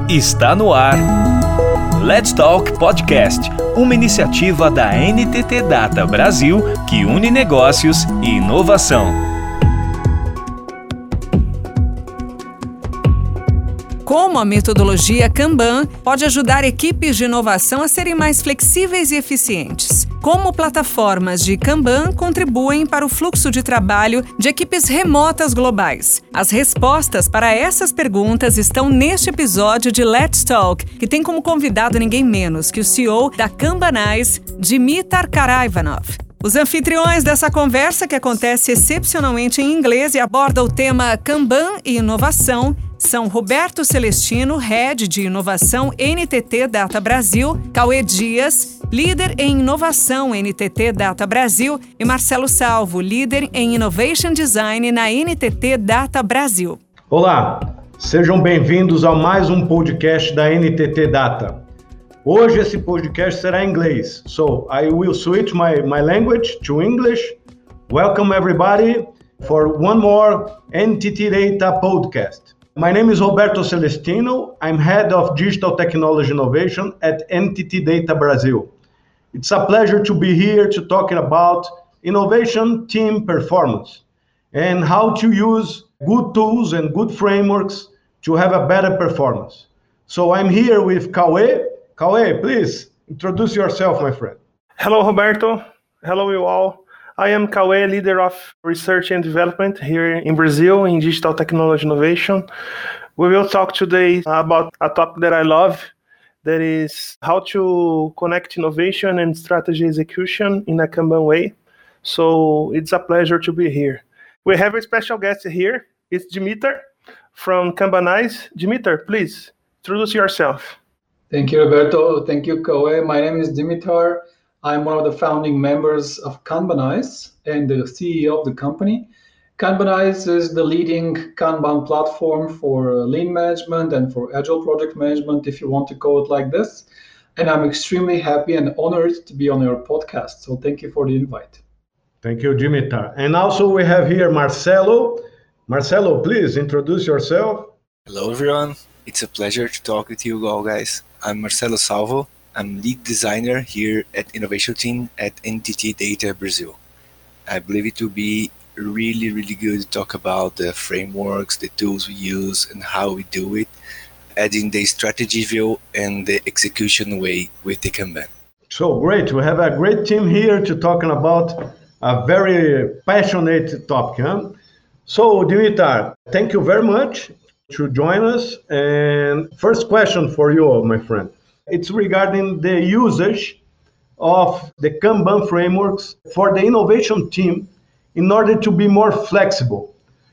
Está no ar. Let's Talk Podcast, uma iniciativa da NTT Data Brasil que une negócios e inovação. Como a metodologia Kanban pode ajudar equipes de inovação a serem mais flexíveis e eficientes? Como plataformas de Kanban contribuem para o fluxo de trabalho de equipes remotas globais? As respostas para essas perguntas estão neste episódio de Let's Talk, que tem como convidado ninguém menos que o CEO da Kanbanize, Dimitar Karaivanov. Os anfitriões dessa conversa, que acontece excepcionalmente em inglês e aborda o tema Kanban e inovação, são Roberto Celestino, Head de Inovação NTT Data Brasil, Cauê Dias, Líder em Inovação NTT Data Brasil e Marcelo Salvo, Líder em Innovation Design na NTT Data Brasil. Olá, sejam bem-vindos a mais um podcast da NTT Data. Hoje esse podcast será em inglês, so I will switch my language to English. Welcome everybody for one more NTT Data podcast. My name is Roberto Celestino. I'm Head of Digital Technology Innovation at NTT Data Brasil. It's a pleasure to be here to talking about innovation team performance and how to use good tools and good frameworks to have a better performance. So I'm here with Cauê. Cauê, please introduce yourself, my friend. Hello, Roberto. Hello, you all. I am Cauê, leader of research and development here in Brazil in digital technology innovation. We will talk today about a topic that I love, that is how to connect innovation and strategy execution in a Kanban way. So it's a pleasure to be here. We have a special guest here. It's Dimitar from Kanbanize. Dimitar, please introduce yourself. Thank you, Roberto. Thank you, Cauê. My name is Dimitar. I'm one of the founding members of Kanbanize and the CEO of the company. Kanbanize is the leading Kanban platform for lean management and for agile project management, if you want to call it like this. And I'm extremely happy and honored to be on your podcast. So thank you for the invite. Thank you, Dimitar. And also we have here Marcelo. Marcelo, please introduce yourself. Hello, everyone. It's a pleasure to talk with you all, guys. I'm Marcelo Salvo. I'm lead designer here at Innovation Team at NTT Data Brazil. I believe it will be really, really good to talk about the frameworks, the tools we use, and how we do it, adding the strategy view and the execution way with the Kanban. So great. We have a great team here to talking about a very passionate topic. Huh? So, Dimitar, thank you very much to join us. And first question for you, my friend. It's regarding the usage of the Kanban frameworks for the innovation team in order to be more flexible.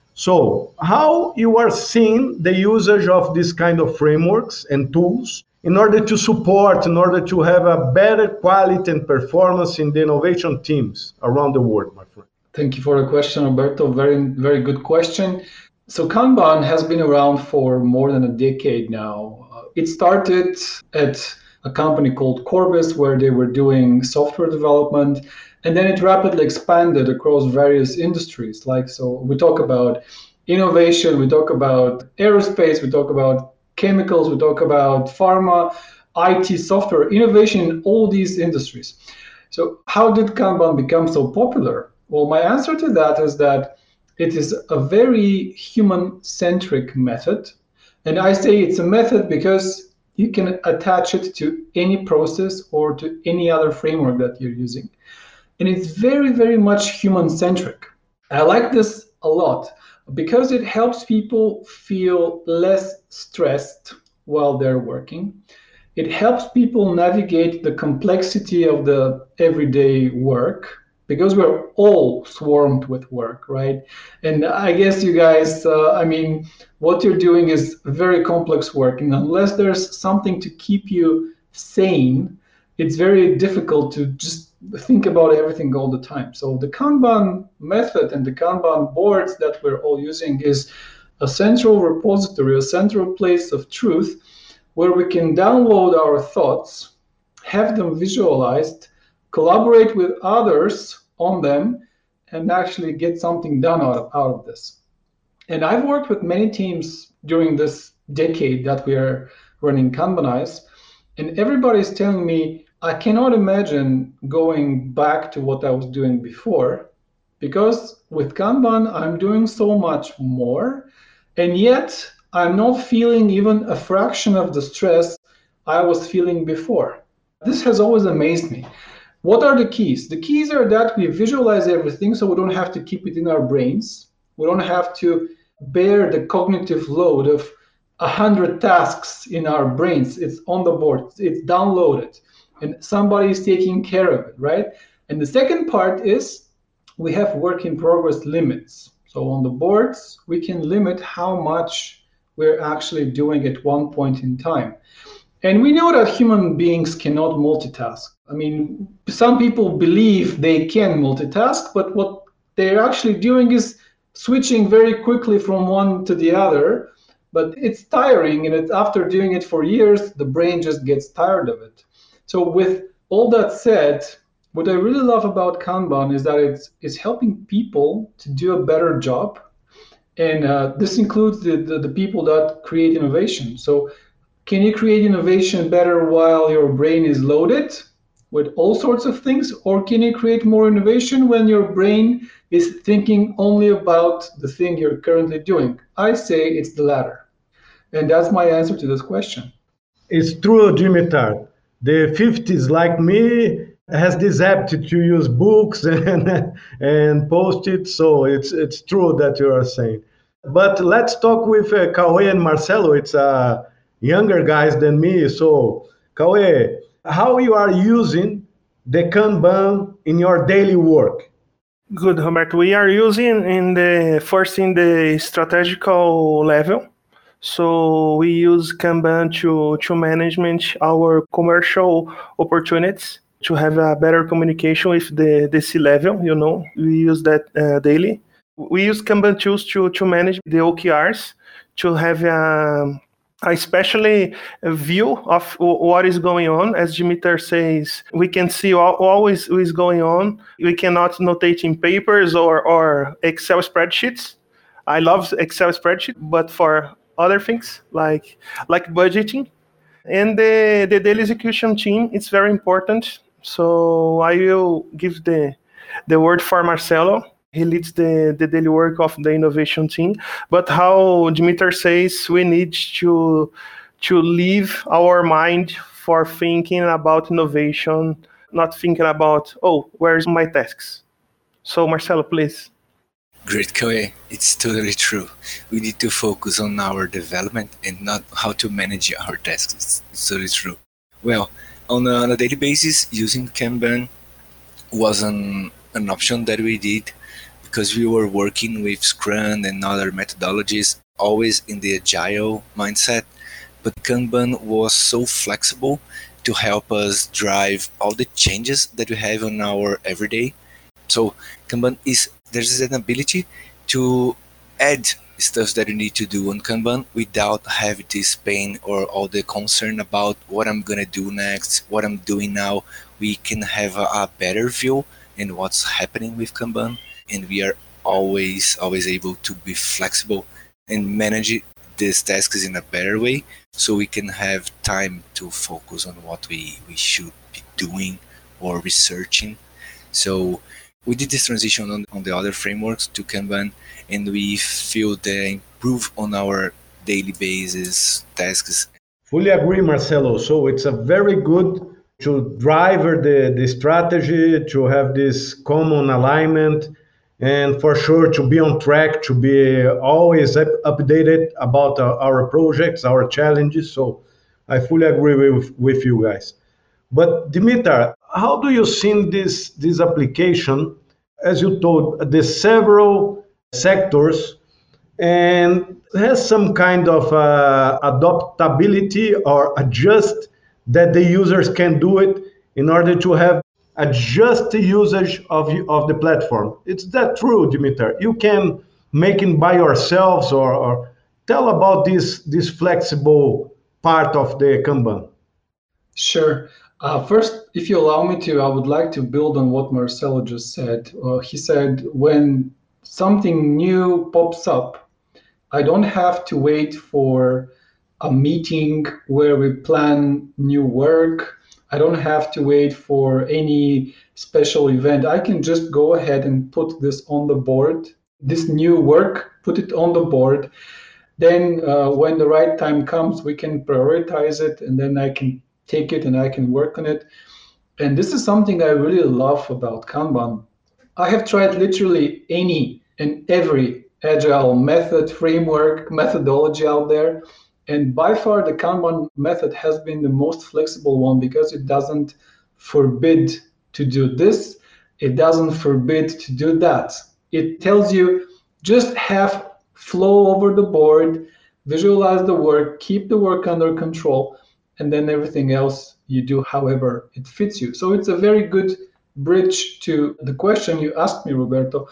So how you are seeing the usage of this kind of frameworks and tools in order to support, in order to have a better quality and performance in the innovation teams around the world, my friend? Thank you for the question, Roberto. Very, very good question. So Kanban has been around for more than a decade now. It started at a company called Corbis, where they were doing software development, and then it rapidly expanded across various industries. So we talk about innovation, we talk about aerospace, we talk about chemicals, we talk about pharma, IT, software, innovation in all these industries. So how did Kanban become so popular? Well, my answer to that is that it is a very human-centric method. And I say it's a method because you can attach it to any process or to any other framework that you're using. And it's very, very much human-centric. I like this a lot because it helps people feel less stressed while they're working. It helps people navigate the complexity of the everyday work, because we're all swarmed with work, right? And I guess you guys, what you're doing is very complex work. And unless there's something to keep you sane, it's very difficult to just think about everything all the time. So the Kanban method and the Kanban boards that we're all using is a central repository, a central place of truth where we can download our thoughts, have them visualized, collaborate with others on them, and actually get something done out of this. And I've worked with many teams during this decade that we are running Kanbanize, and everybody's telling me I cannot imagine going back to what I was doing before, because with Kanban I'm doing so much more, and yet I'm not feeling even a fraction of the stress I was feeling before. This has always amazed me. What are the keys? The keys are that we visualize everything so we don't have to keep it in our brains. We don't have to bear the cognitive load of 100 tasks in our brains. It's on the board, it's downloaded, and somebody is taking care of it, right? And the second part is we have work in progress limits. So on the boards, we can limit how much we're actually doing at one point in time. And we know that human beings cannot multitask. I mean, some people believe they can multitask, but what they're actually doing is switching very quickly from one to the other. But it's tiring, and after doing it for years, the brain just gets tired of it. So with all that said, what I really love about Kanban is that it's helping people to do a better job. And this includes the people that create innovation. So can you create innovation better while your brain is loaded with all sorts of things? Or can you create more innovation when your brain is thinking only about the thing you're currently doing? I say it's the latter. And that's my answer to this question. It's true, Dimitar. The 50s, like me, has this aptitude to use books and post-it, so it's true that you are saying. But let's talk with Cauê and Marcelo. It's younger guys than me. So, Cauê, how you are using the Kanban in your daily work? Good, Roberto. We are using in the strategical level. So we use Kanban to manage our commercial opportunities, to have a better communication with the C-level, We use that daily. We use Kanban tools to manage the OKRs, to have especially a view of what is going on. As Dimitar says, we can see always what is going on. We cannot notate in papers or Excel spreadsheets. I love Excel spreadsheet, but for other things like budgeting. And the daily execution team, it's very important. So I will give the word for Marcelo. He leads the daily work of the innovation team. But how Dimitar says, we need to leave our mind for thinking about innovation, not thinking about, where's my tasks? So Marcelo, please. Great, Cauê. It's totally true. We need to focus on our development and not how to manage our tasks. It's totally true. Well, on a daily basis, using Kanban was an option that we did because we were working with Scrum and other methodologies, always in the agile mindset. But Kanban was so flexible to help us drive all the changes that we have on our everyday. So Kanban there's an ability to add stuff that you need to do on Kanban without having this pain or all the concern about what I'm going to do next, what I'm doing now. We can have a better view in what's happening with Kanban, and we are always able to be flexible and manage these tasks in a better way, so we can have time to focus on what we should be doing or researching. So we did this transition on the other frameworks to Kanban, and we feel the improve on our daily basis tasks. Fully agree, Marcelo. So it's a very good to drive the strategy, to have this common alignment, and for sure to be on track, to be always updated about our projects, our challenges. So I fully agree with you guys. But Dimitar, how do you see this application? As you told, the several sectors, and has some kind of adaptability or adjust that the users can do it in order to have adjust the usage of the platform. Is that true, Dimitar? You can make it by yourselves, or tell about this flexible part of the Kanban. Sure. First, if you allow me to, I would like to build on what Marcelo just said. He said, when something new pops up, I don't have to wait for a meeting where we plan new work. I don't have to wait for any special event. I can just go ahead and put this on the board, this new work, put it on the board. Then when the right time comes, we can prioritize it, and then I can take it and I can work on it. And this is something I really love about Kanban. I have tried literally any and every agile method, framework, methodology out there. And by far, the Kanban method has been the most flexible one because it doesn't forbid to do this. It doesn't forbid to do that. It tells you just have flow over the board, visualize the work, keep the work under control, and then everything else you do however it fits you. So it's a very good bridge to the question you asked me, Roberto,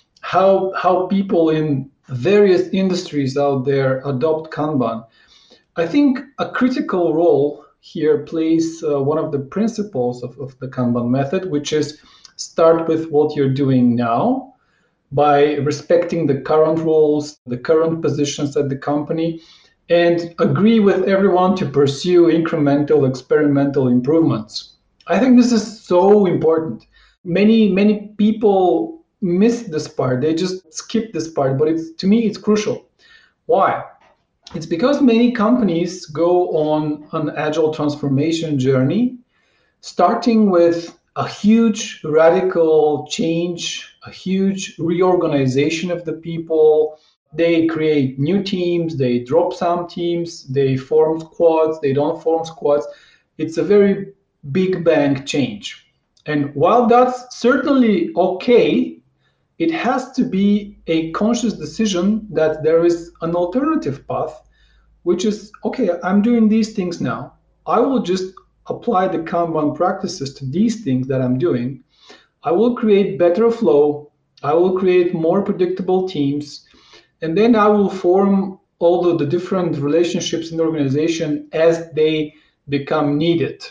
how people in various industries out there adopt Kanban. I think a critical role here plays one of the principles of the Kanban method, which is start with what you're doing now, by respecting the current roles, the current positions at the company, and agree with everyone to pursue incremental experimental improvements. I think this is so important. Many people miss this part. They just skip this part, but to me, it's crucial. Why? It's because many companies go on an agile transformation journey, starting with a huge radical change, a huge reorganization of the people. They create new teams, they drop some teams, they form squads, they don't form squads. It's a very big bang change. And while that's certainly okay, it has to be a conscious decision that there is an alternative path, which is, okay, I'm doing these things now. I will just apply the Kanban practices to these things that I'm doing. I will create better flow. I will create more predictable teams. And then I will form all of the different relationships in the organization as they become needed.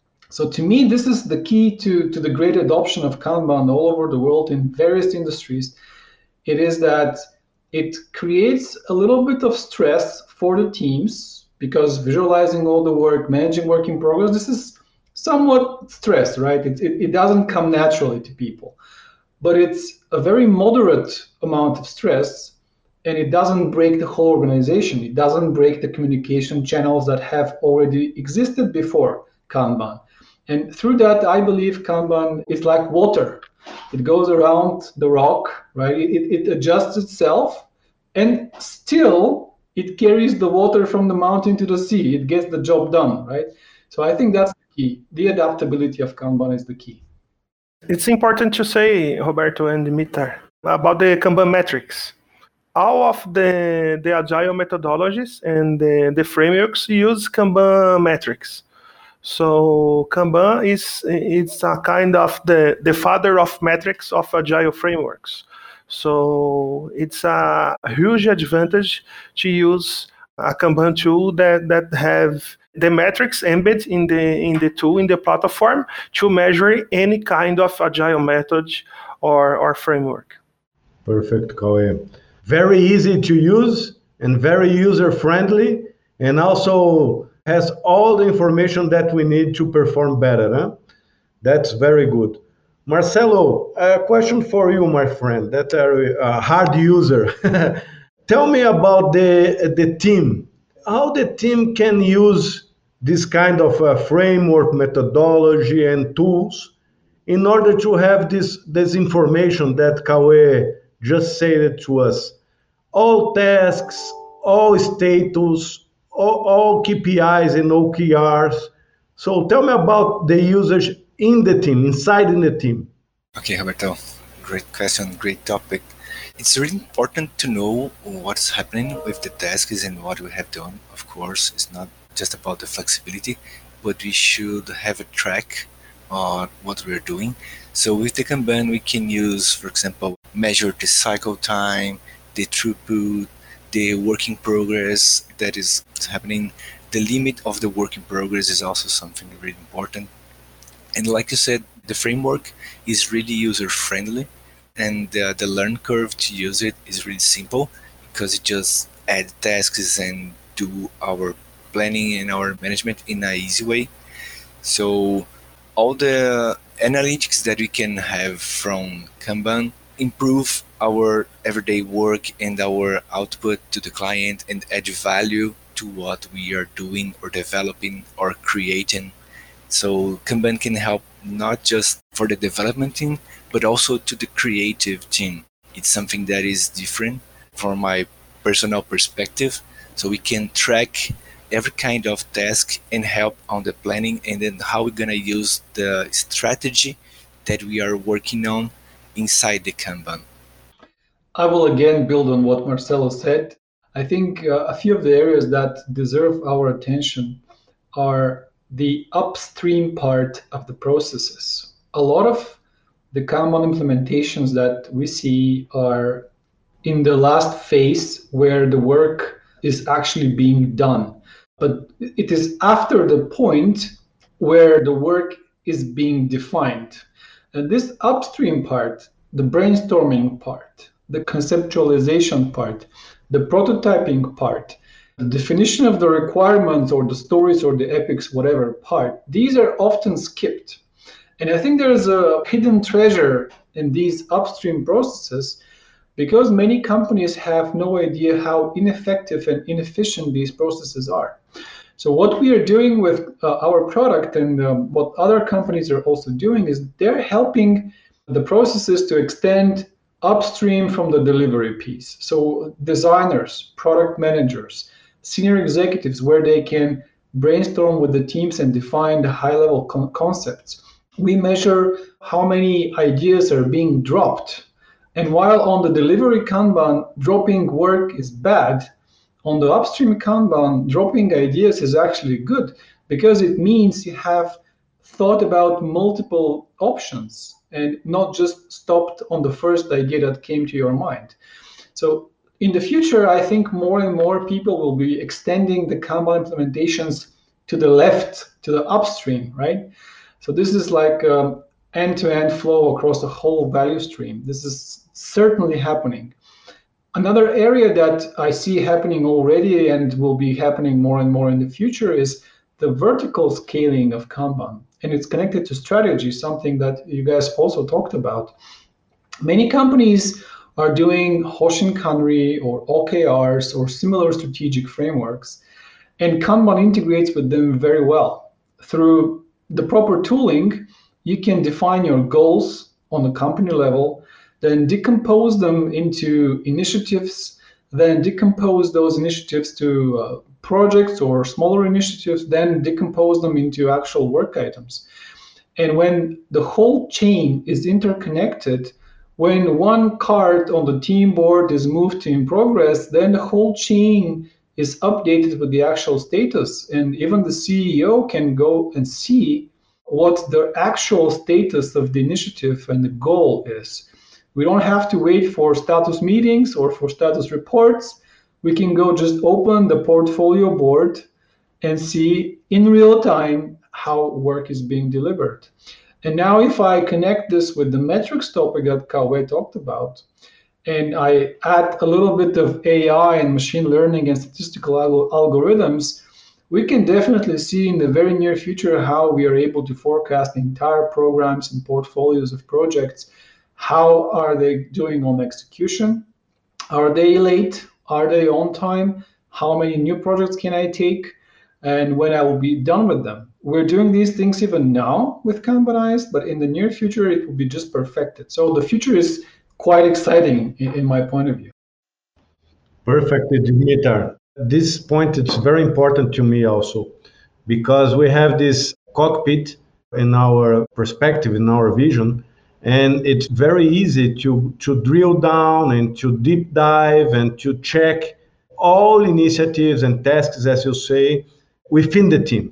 So to me, this is the key to the great adoption of Kanban all over the world in various industries. It is that it creates a little bit of stress for the teams, because visualizing all the work, managing work in progress, this is somewhat stress, right? It doesn't come naturally to people, but it's a very moderate amount of stress, and it doesn't break the whole organization. It doesn't break the communication channels that have already existed before Kanban. And through that, I believe Kanban is like water. It goes around the rock, right? It adjusts itself, and still it carries the water from the mountain to the sea. It gets the job done, right? So I think that's the key. The adaptability of Kanban is the key. It's important to say, Roberto and Dimitar, about the Kanban metrics. All of the agile methodologies and the frameworks use Kanban metrics. So Kanban it's a kind of the father of metrics of agile frameworks. So it's a huge advantage to use a Kanban tool that have the metrics embedded in the tool, in the platform, to measure any kind of agile method or framework. Perfect, Cauê. Very easy to use and very user-friendly, and also has all the information that we need to perform better. Huh? That's very good. Marcelo, a question for you, my friend, that are a hard user. Tell me about the team. How the team can use this kind of framework, methodology, and tools in order to have this information that Cauê just said to us. All tasks, all status, all KPIs and OKRs. So tell me about the users in the team, inside in the team. Okay, Roberto, great question, great topic. It's really important to know what's happening with the tasks and what we have done. Of course, it's not just about the flexibility, but we should have a track on what we're doing. So with the Kanban, we can use, for example, measure the cycle time, the throughput, the work in progress that is happening. The limit of the work in progress is also something really important. And like you said, the framework is really user-friendly, and the learn curve to use it is really simple, because it just adds tasks and do our planning and our management in an easy way. So all the analytics that we can have from Kanban improve our everyday work and our output to the client and add value to what we are doing or developing or creating. So Kanban can help not just for the development team, but also to the creative team. It's something that is different from my personal perspective. So we can track every kind of task and help on the planning and then how we're going to use the strategy that we are working on inside the Kanban. I will again build on what Marcelo said. I think a few of the areas that deserve our attention are the upstream part of the processes. A lot of the Kanban implementations that we see are in the last phase where the work is actually being done. But it is after the point where the work is being defined. And this upstream part, the brainstorming part, the conceptualization part, the prototyping part, the definition of the requirements or the stories or the epics, whatever part, these are often skipped. And I think there's a hidden treasure in these upstream processes because many companies have no idea how ineffective and inefficient these processes are. So what we are doing with our product and what other companies are also doing is they're helping the processes to extend upstream from the delivery piece. So designers, product managers, senior executives, where they can brainstorm with the teams and define the high-level concepts. We measure how many ideas are being dropped. And while on the delivery Kanban, dropping work is bad, on the upstream Kanban, dropping ideas is actually good because it means you have thought about multiple options and not just stopped on the first idea that came to your mind. So in the future, I think more and more people will be extending the Kanban implementations to the left, to the upstream, right? So this is like end-to-end flow across the whole value stream. This is certainly happening. Another area that I see happening already and will be happening more and more in the future is the vertical scaling of Kanban. And it's connected to strategy, something that you guys also talked about. Many companies are doing Hoshinkanri or OKRs or similar strategic frameworks, and Kanban integrates with them very well. Through the proper tooling, you can define your goals on the company level, then decompose them into initiatives, then decompose those initiatives to projects or smaller initiatives, then decompose them into actual work items. And when the whole chain is interconnected, when one card on the team board is moved to in progress, then the whole chain is updated with the actual status. And even the CEO can go and see what the actual status of the initiative and the goal is. We don't have to wait for status meetings or for status reports. We can go just open the portfolio board and see in real time how work is being delivered. And now if I connect this with the metrics topic that Kauwe talked about, and I add a little bit of AI and machine learning and statistical algorithms, we can definitely see in the very near future how we are able to forecast entire programs and portfolios of projects. How are they doing on execution? Are they late? Are they on time? How many new projects can I take? And when I will be done with them. We're doing these things even now with Kanbanized, but in the near future, it will be just perfected. So the future is quite exciting in my point of view. Perfect, Dimitar. This point is very important to me also, because we have this cockpit in our perspective, in our vision, and it's very easy to drill down and to deep dive and to check all initiatives and tasks, as you say, within the team.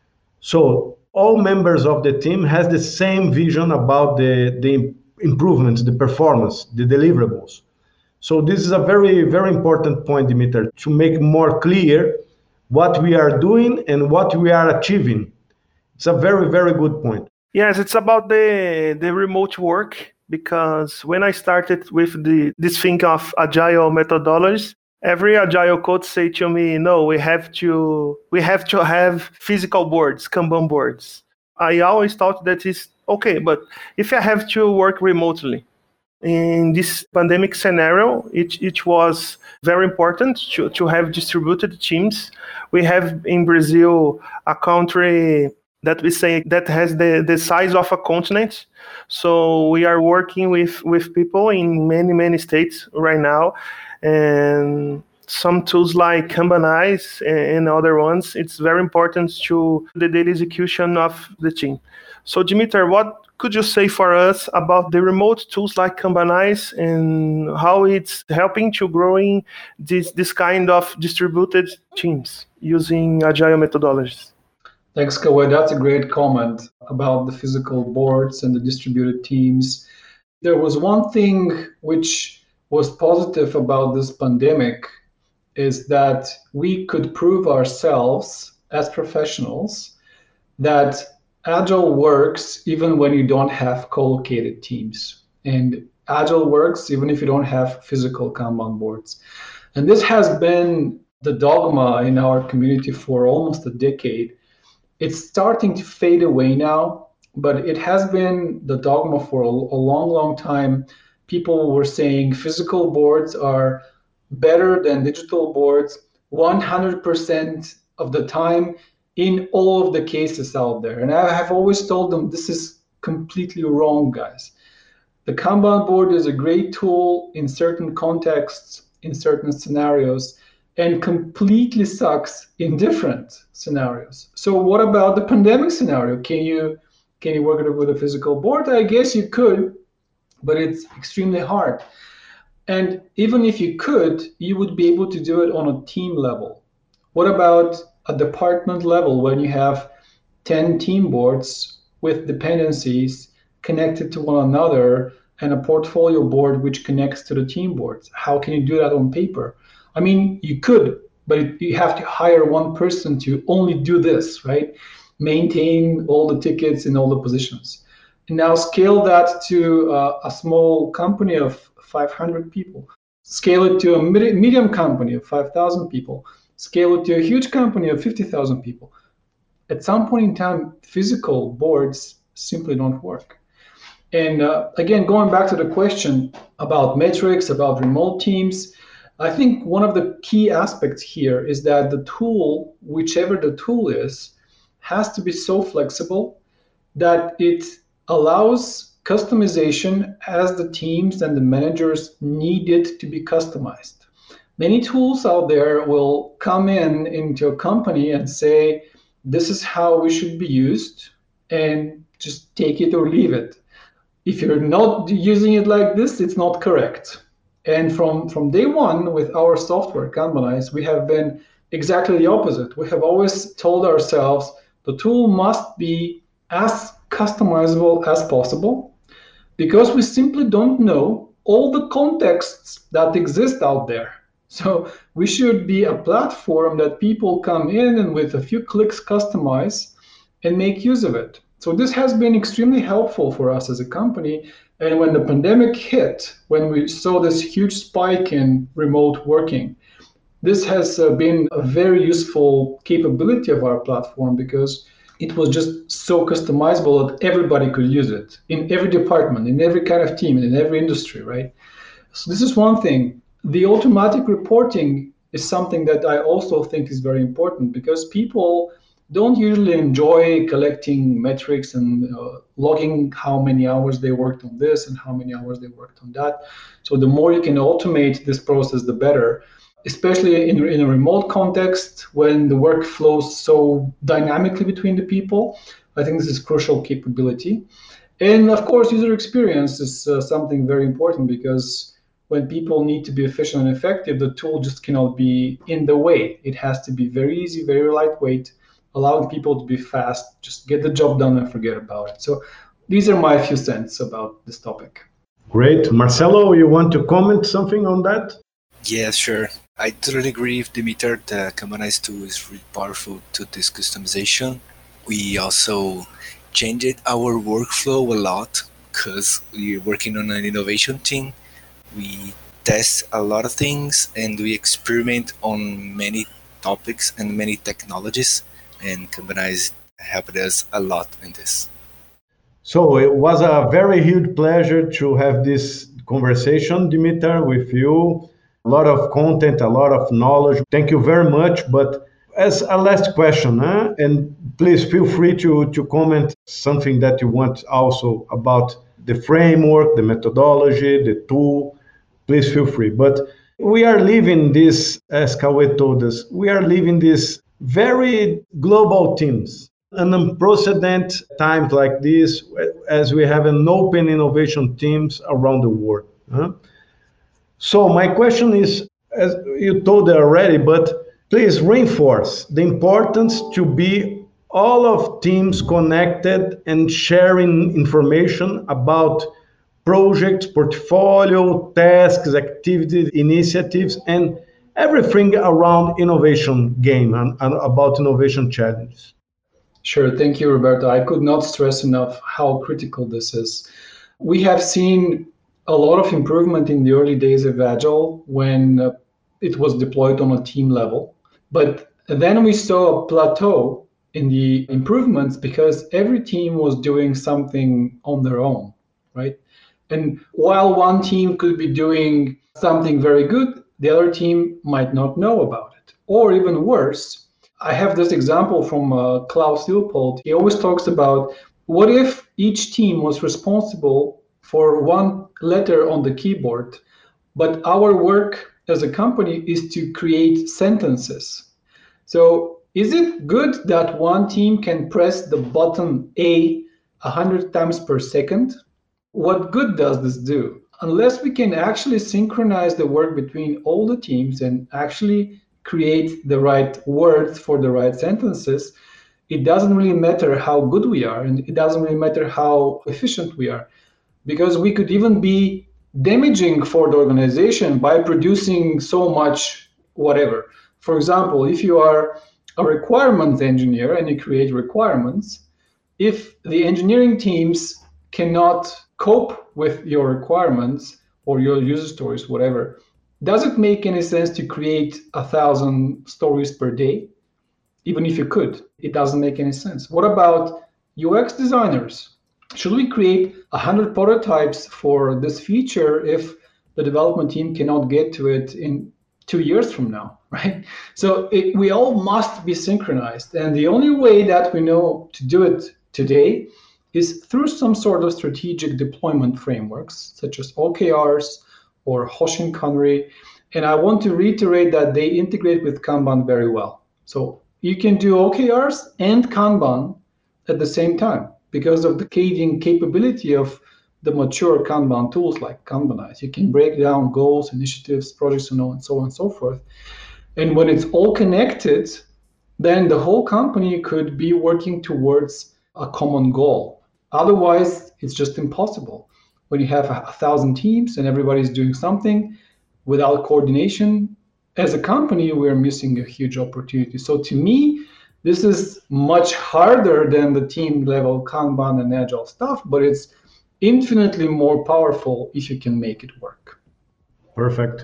So all members of the team has the same vision about the improvements, the performance, the deliverables. So this is a very, very important point, Dimitar, to make more clear what we are doing and what we are achieving. It's a very, very good point. Yes, it's about the remote work, because when I started with this thing of agile methodologies, Every agile coach say to me, no, we have to have physical boards, Kanban boards. I always thought that is okay, but if I have to work remotely, in this pandemic scenario, it was very important to have distributed teams. We have in Brazil a country that we say that has the size of a continent. So we are working with people in many states right now. And some tools like Kanbanize and other ones, it's very important to the daily execution of the team. So Dimitar, what could you say for us about the remote tools like Kanbanize and how it's helping to growing this kind of distributed teams using agile methodologies? Thanks, Kawhi. That's a great comment about the physical boards and the distributed teams. There was one thing which was positive about this pandemic is that we could prove ourselves as professionals that Agile works even when you don't have co-located teams. And Agile works even if you don't have physical Kanban boards. And this has been the dogma in our community for almost a decade. It's starting to fade away now, but it has been the dogma for a long time. People were saying physical boards are better than digital boards 100% of the time in all of the cases out there. And I have always told them this is completely wrong, guys. The Kanban board is a great tool in certain contexts, in certain scenarios, and completely sucks in different scenarios. So what about the pandemic scenario? Can you work it with a physical board? I guess you could, but it's extremely hard. And even if you could, you would be able to do it on a team level. What about a department level when you have 10 team boards with dependencies connected to one another and a portfolio board which connects to the team boards? How can you do that on paper? I mean, you could, but you have to hire one person to only do this, right? Maintain all the tickets in all the positions. And now scale that to a small company of 500 people. Scale it to a medium company of 5,000 people. Scale it to a huge company of 50,000 people. At some point in time, physical boards simply don't work. And again, going back to the question about metrics, about remote teams, I think one of the key aspects here is that the tool, whichever the tool is, has to be so flexible that it allows customization as the teams and the managers need it to be customized. Many tools out there will come into a company and say, this is how we should be used, and just take it or leave it. If you're not using it like this, it's not correct. And from day one with our software, Kanbanize, we have been exactly the opposite. We have always told ourselves the tool must be as customizable as possible because we simply don't know all the contexts that exist out there. So we should be a platform that people come in and with a few clicks customize and make use of it. So this has been extremely helpful for us as a company. And when the pandemic hit, when we saw this huge spike in remote working, this has been a very useful capability of our platform because it was just so customizable that everybody could use it in every department, in every kind of team, and in every industry, right? So this is one thing. The automatic reporting is something that I also think is very important because people don't usually enjoy collecting metrics and logging how many hours they worked on this and how many hours they worked on that. So the more you can automate this process, the better, especially in a remote context when the work flows so dynamically between the people. I think this is crucial capability. And of course, user experience is something very important because when people need to be efficient and effective, the tool just cannot be in the way. It has to be very easy, very lightweight, allowing people to be fast, just get the job done and forget about it. So these are my few cents about this topic. Great. Marcelo, you want to comment something on that? Yeah, sure. I totally agree with Dimitar. The Kanbanize tool is really powerful to this customization. We also changed our workflow a lot because we're working on an innovation team. We test a lot of things and we experiment on many topics and many technologies, and Kanban helped us a lot in this. So it was a very huge pleasure to have this conversation, Dimitar, with you. A lot of content, a lot of knowledge. Thank you very much. But as a last question, and please feel free to comment something that you want also about the framework, the methodology, the tool. Please feel free. But we are living this, as Cauê told us, we are living this very global teams. An unprecedented times like this, as we have an open innovation teams around the world. So my question is, as you told already, but please reinforce the importance to be all of teams connected and sharing information about projects, portfolio, tasks, activities, initiatives, and everything around innovation game and about innovation challenges. Sure. Thank you, Roberto. I could not stress enough how critical this is. We have seen a lot of improvement in the early days of Agile when it was deployed on a team level. But then we saw a plateau in the improvements because every team was doing something on their own, right? And while one team could be doing something very good, the other team might not know about it. Or even worse, I have this example from Klaus Leopold. He always talks about what if each team was responsible for one letter on the keyboard, but our work as a company is to create sentences. So is it good that one team can press the button A 100 times per second? What good does this do? Unless we can actually synchronize the work between all the teams and actually create the right words for the right sentences, it doesn't really matter how good we are, and it doesn't really matter how efficient we are, because we could even be damaging for the organization by producing so much whatever. For example, if you are a requirements engineer and you create requirements, if the engineering teams cannot cope with your requirements or your user stories, whatever, does it make any sense to create 1,000 stories per day? Even if you could, it doesn't make any sense. What about UX designers? Should we create 100 prototypes for this feature if the development team cannot get to it in 2 years from now, right? So we all must be synchronized. And the only way that we know to do it today is through some sort of strategic deployment frameworks, such as OKRs, or Hoshinkanri. And I want to reiterate that they integrate with Kanban very well. So you can do OKRs and Kanban at the same time because of the cascading capability of the mature Kanban tools like Kanbanize. You can break down goals, initiatives, projects, and so on and so forth. And when it's all connected, then the whole company could be working towards a common goal. Otherwise, it's just impossible. When you have 1,000 teams and everybody's doing something without coordination, as a company, we're missing a huge opportunity. So to me, this is much harder than the team level Kanban and Agile stuff, but it's infinitely more powerful if you can make it work. Perfect.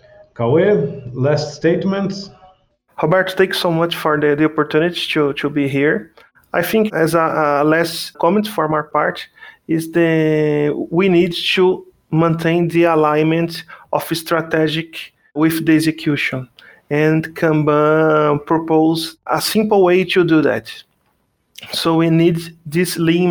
Cauê, last statements? Roberto, thanks so much for the opportunity to be here. I think as a last comment from our part is we need to maintain the alignment of strategic with the execution. And Kanban propose a simple way to do that. So we need this lean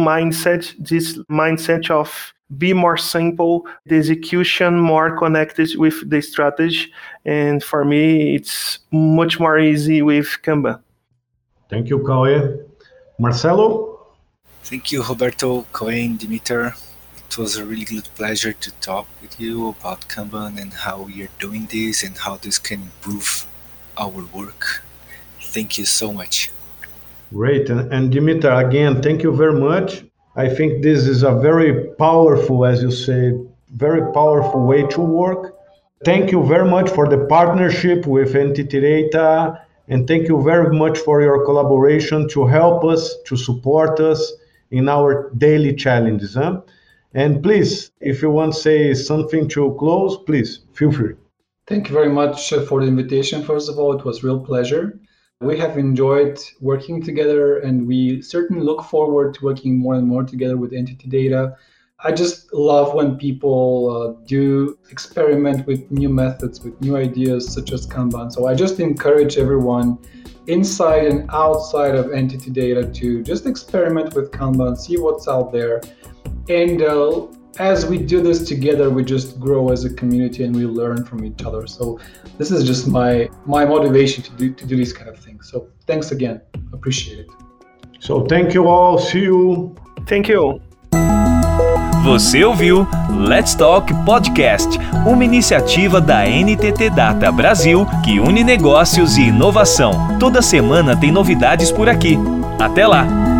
mindset of be more simple, the execution more connected with the strategy. And for me, it's much more easy with Kanban. Thank you, Cauê. Marcelo? Thank you, Roberto, Cauê, and Dimitar. It was a really good pleasure to talk with you about Kanban and how we are doing this and how this can improve our work. Thank you so much. Great. And Dimitar, again, thank you very much. I think this is a very powerful, as you say, very powerful way to work. Thank you very much for the partnership with NTT Data, and thank you very much for your collaboration to help us, to support us in our daily challenges. And please, if you want to say something to close, please feel free. Thank you very much for the invitation. First of all, it was a real pleasure. We have enjoyed working together, and we certainly look forward to working more and more together with Entity Data. I just love when people do experiment with new methods, with new ideas such as Kanban. So I just encourage everyone inside and outside of Entity Data to just experiment with Kanban, see what's out there. And as we do this together, we just grow as a community and we learn from each other. So this is just my motivation to do these kind of things. So thanks again. Appreciate it. So thank you all. See you. Thank you. Você ouviu Let's Talk Podcast, uma iniciativa da NTT Data Brasil que une negócios e inovação. Toda semana tem novidades por aqui. Até lá!